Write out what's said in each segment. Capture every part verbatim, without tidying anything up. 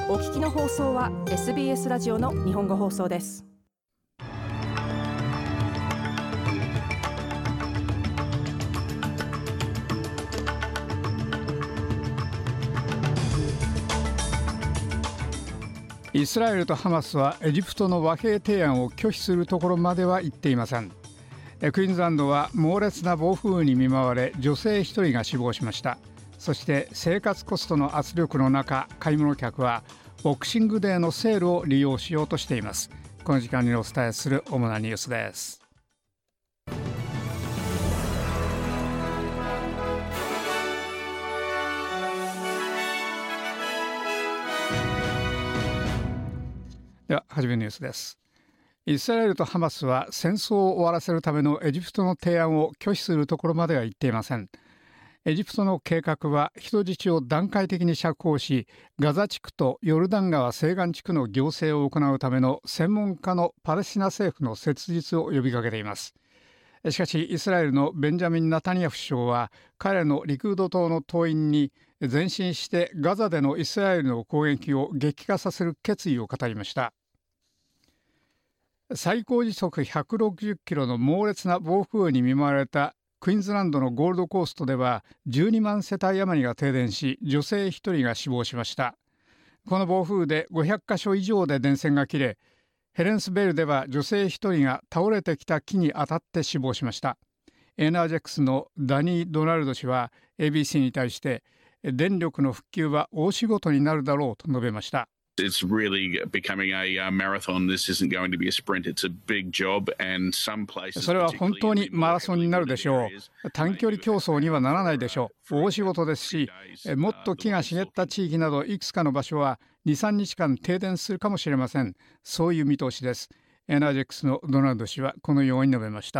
お聞きの放送は エスビーエス ラジオの日本語放送です。 イスラエルとハマスはエジプトの和平提案を拒否するところまでは行っていません。クイーンズランドは猛烈な暴風雨に見舞われ、女性一人が死亡しました。そして生活コストの圧力の中、買い物客はボクシングデーのセールを利用しようとしています。この時間にお伝えする主なニュースです。では初めのニュースです。イスラエルとハマスは戦争を終わらせるためのエジプトの提案を拒否するところまでは行っていません。エジプトの計画は人質を段階的に釈放し、ガザ地区とヨルダン川西岸地区の行政を行うための専門家のパレスチナ政府の設立を呼びかけています。しかしイスラエルのベンジャミン・ナタニヤフ首相は彼のリクード党の党員に前進してガザでのイスラエルの攻撃を激化させる決意を語りました。最高時速ひゃくろくじゅっキロの猛烈な暴風雨に見舞われたクイーンズランドのゴールドコーストではじゅうにまん世帯余りが停電し、女性ひとりが死亡しました。この暴風雨でごひゃくかしょ以上で電線が切れ、ヘレンスベルでは女性ひとりが倒れてきた木に当たって死亡しました。エナージェックスのダニー・ドナルド氏は エービーシー に対して、電力の復旧は大仕事になるだろうと述べました。 It's really becoming a marathon. This isn't going to be a sprint. It's a big job and some places. それは本当にマラソンになるでしょう。短距離競争にはならないでしょう。大仕事ですし、もっと木が茂った地域などいくつかの場所はに、さんにちかん停電するかもしれません。そういう見通しです。エナージェックスのドナルド氏はこのように述べました。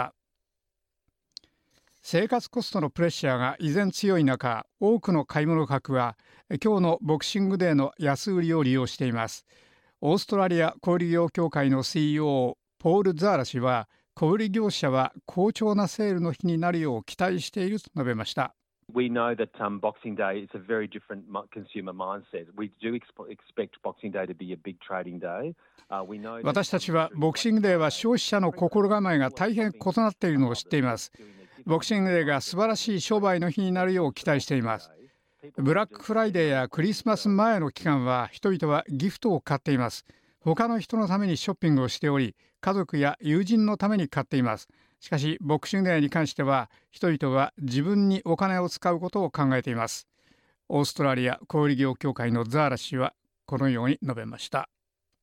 生活コストのプレッシャーが依然強い中、多くの買い物客は今日のボクシングデーの安売りを利用しています。オーストラリア小売業協会の シーイーオー ポール・ザーラ氏は、小売業者は好調なセールの日になるよう期待していると述べました。 We know that um, Boxing Day is a very different consumer mindset. We do expect Boxing Day to be a big trading day. Uh, we know 私たちはボクシングデーは消費者の心構えが大変異なっているのを知っています。ボクシングデーが素晴らしい商売の日になるよう期待しています。ブラックフライデーやクリスマス前の期間は人々はギフトを買っています。他の人のためにショッピングをしており、家族や友人のために買っています。しかしボクシングデーに関しては人々は自分にお金を使うことを考えています。オーストラリア小売業協会のザーラ氏はこのように述べました。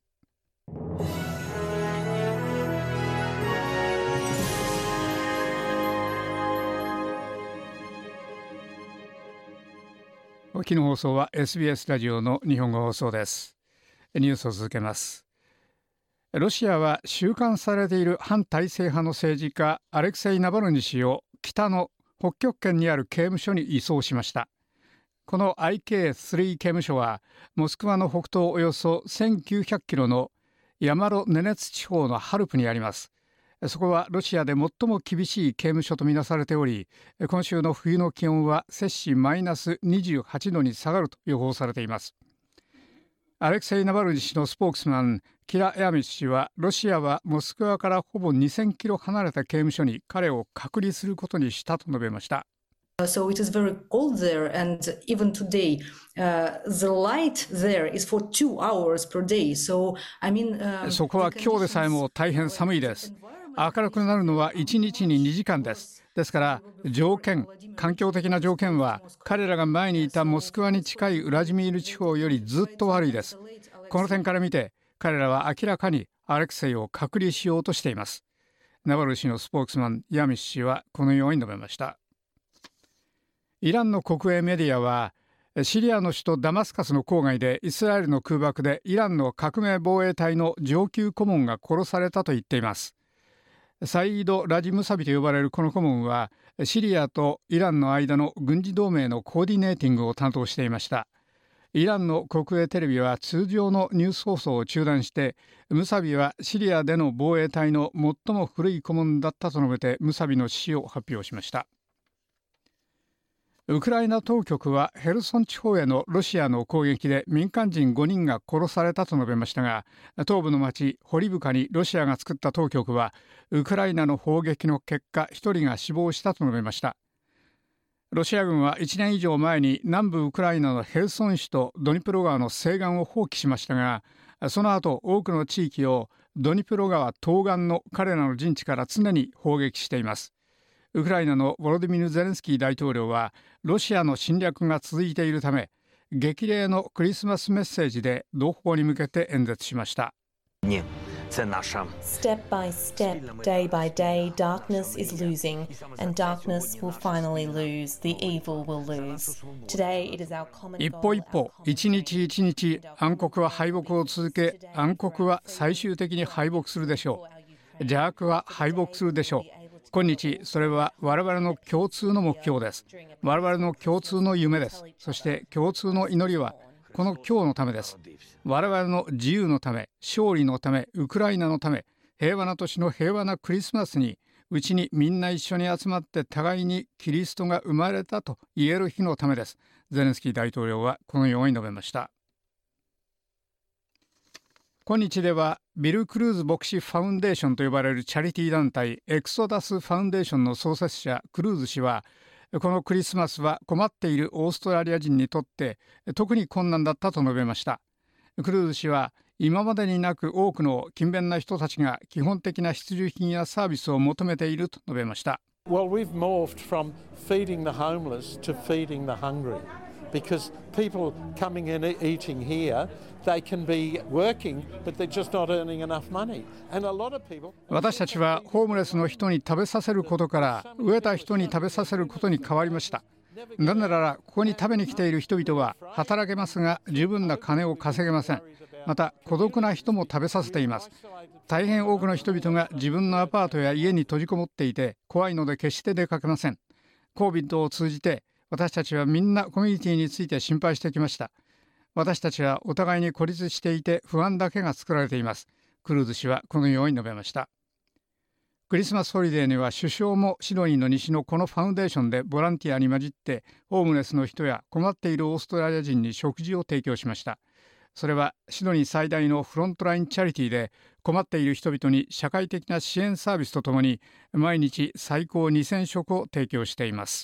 お聞きの放送は エスビーエス ラジオの日本語放送です。ニュースを続けます。ロシアは収監されている反体制派の政治家アレクセイ・ナバルニ氏を北の北極圏にある刑務所に移送しました。この アイケースリー 刑務所はモスクワの北東およそせんきゅうひゃくキロのヤマロネネツ地方のハルプにあります。そこはロシアで最も厳しい刑務所とみなされており、今週の冬の気温は摂氏マイナスにじゅうはちどに下がると予報されています。アレクセイ・ナバルニ氏のスポークスマンキラ・ヤミチ氏は、ロシアはモスクワからほぼにせんキロ離れた刑務所に彼を隔離することにしたと述べました。 So it is very cold there, and even today, uh, the light there is for two hours per day. So I mean, uh, そこは今日でさえも大変寒いです。明るくなるのはいちにちににじかんです。ですから条件、環境的な条件は彼らが前にいたモスクワに近いウラジミール地方よりずっと悪いです。この点から見て彼らは明らかにアレクセイを隔離しようとしています。ナバル氏のスポークスマンヤミシ氏はこのように述べました。イランの国営メディアはシリアの首都ダマスカスの郊外でイスラエルの空爆でイランの革命防衛隊の上級顧問が殺されたと言っています。サイード・ラジムサビと呼ばれるこの顧問はシリアとイランの間の軍事同盟のコーディネーティングを担当していました。イランの国営テレビは通常のニュース放送を中断して、ムサビはシリアでの防衛隊の最も古い顧問だったと述べてムサビの死を発表しました。 ウクライナ当局はヘルソン地方へのロシアの攻撃で民間人ごにんが殺されたと述べましたが、東部の町ホリブカにロシアが作った当局はウクライナの砲撃の結果ひとりが死亡したと述べました。ロシア軍はいちねん以上前に南部ウクライナのヘルソン市とドニプロ川の西岸を放棄しましたが、その後多くの地域をドニプロ川東岸の彼らの陣地から常に砲撃しています。ウクライナのヴォロディミル・ゼレンスキー大統領はロシアの侵略が続いているため、激励のクリスマスメッセージで同胞に向けて演説しました。 Step by step, day by day, darkness is losing, and darkness will finally lose. The evil will lose. Today it is our common goal. 一歩一歩、一日一日、暗黒は敗北を続け、暗黒は最終的に敗北するでしょう。邪悪は敗北するでしょう。今日、それは我々の共通の目標です。我々の共通の夢です。そして共通の祈りはこの今日のためです。我々の自由のため、勝利のため、ウクライナのため、平和な年の平和なクリスマスに、うちにみんな一緒に集まって互いにキリストが生まれたと言える日のためです。ゼレンスキー大統領はこのように述べました。今日ではビル・クルーズ牧師ファウンデーションと呼ばれるチャリティー団体エクソダスファウンデーションの創設者クルーズ氏は、このクリスマスは困っているオーストラリア人にとって特に困難だったと述べました。クルーズ氏は今までになく多くの勤勉な人たちが基本的な必需品やサービスを求めていると述べました。 Well, we've morphed from feeding the homeless to feeding the hungry. Because people coming in and eating here, they can be working, but they're just not earning enough money. And a lot of people. 私たちはホームレスの人に食べさせることから飢えた人に食べさせることに変わりました。なぜならここに食べに来ている人々は働けますが十分な金を稼げません。また孤独な人も食べさせています。大変多くの人々が自分のアパートや家に閉じこもっていて怖いので決して出かけません。コービッドを通じて私たちはみんなコミュニティについて心配してきました。私たちはお互いに孤立していて不安だけが作られています。クルーズ氏はこのように述べました。クリスマスホリデーには首相もシドニーの西のこのファウンデーションでボランティアに混じってホームレスの人や困っているオーストラリア人に食事を提供しました。それはシドニー最大のフロントラインチャリティーで困っている人々に社会的な支援サービスとともに毎日最高にせん食を提供しています。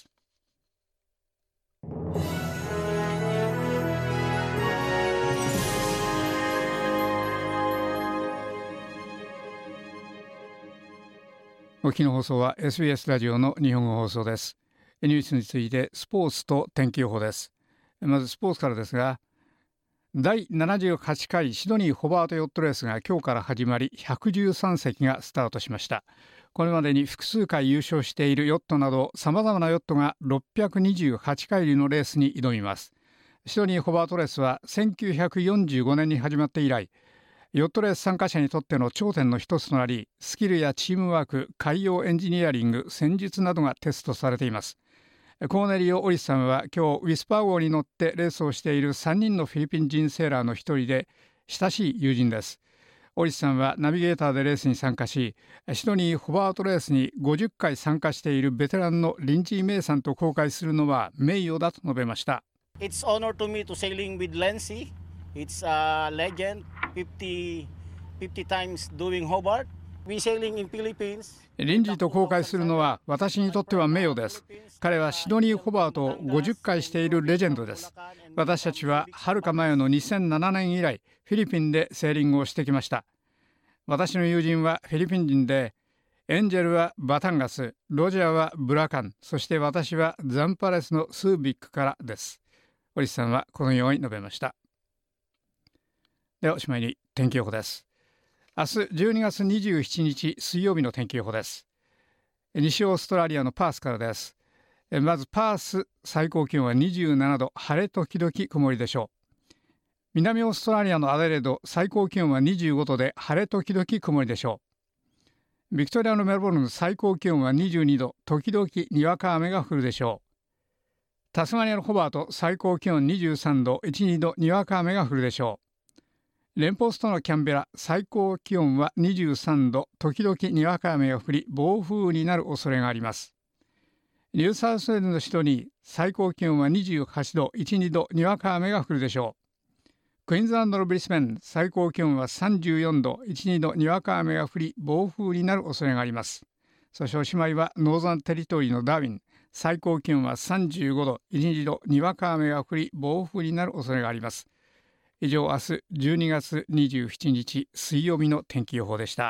お聞きの放送は エスビーエス ラジオの日本語放送です。ニュースについてスポーツと天気予報です。まずスポーツからですが、だいななじゅうはちかいシドニーホバートヨットレースが今日から始まりひゃくじゅうさんせきがスタートしました。これまでに複数回優勝しているヨットなどさまざまなヨットがろっぴゃくにじゅうはちかいりのレースに挑みます。シドニーホバートレースはせんきゅうひゃくよんじゅうごねんに始まって以来、ヨットレース参加者にとっての頂点の一つとなり、スキルやチームワーク、海洋エンジニアリング、戦術などがテストされています。コーネリオ・オリスさんは今日ウィスパー号に乗ってレースをしているさんにんのフィリピン人セーラーの一人で親しい友人です。オリスさんはナビゲーターでレースに参加し、シドニーホバートレースにごじゅっかい参加しているベテランのリンジー・メイさんと公開するのは名誉だと述べました。 It's honor to me to sailing with Lancy. It's a legend, fifty, fifty times doing Hobart. We sailing in Philippines. リンジーと公開するのは私にとっては名誉です。彼はシドニーホバートをごじゅっかいしているレジェンドです。私たちははるか前のにせんななねん以来フィリピンでセーリングをしてきました。私の友人はフィリピン人で、エンジェルはバタンガス、ロジャーはブラカン、そして私はザンパレスのスービックからです。オリスさんはこのように述べました。ではおしまいに天気予報です。明日じゅうにがつにじゅうしちにち水曜日の天気予報です。西オーストラリアのパースからです。まずパース、最高気温はにじゅうななど、晴れ時々曇りでしょう。南オーストラリアのアデレード、最高気温はにじゅうごどで晴れ時々曇りでしょう。ビクトリアのメルボルン、最高気温はにじゅうにど、時々にわか雨が降るでしょう。タスマニアのホバート、最高気温にじゅうさんど、いち、にどにわか雨が降るでしょう。連邦ストのキャンベラ、最高気温はにじゅうさんど、時々にわか雨が降り暴風雨になる恐れがあります。 ニューサウスウェールズの首都に最高気温はにじゅうはちど、いち、にどにわか雨が降るでしょう。クイーンズランドのブリスベン、最高気温はさんじゅうよんど、いち、にどにわか雨が降り暴風になる恐れがあります。そしておしまいはノーザンテリトリーのダーウィン、最高気温はさんじゅうごど、いち、にどにわか雨が降り暴風になる恐れがあります。以上、明日じゅうにがつにじゅうしちにち水曜日の天気予報でした。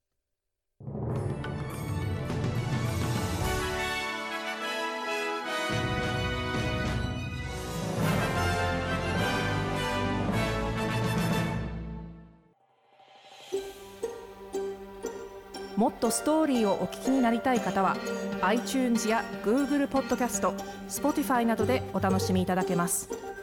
もっとストーリーをお聞きになりたい方は iTunes や Google ポッドキャスト、Spotify などでお楽しみいただけます。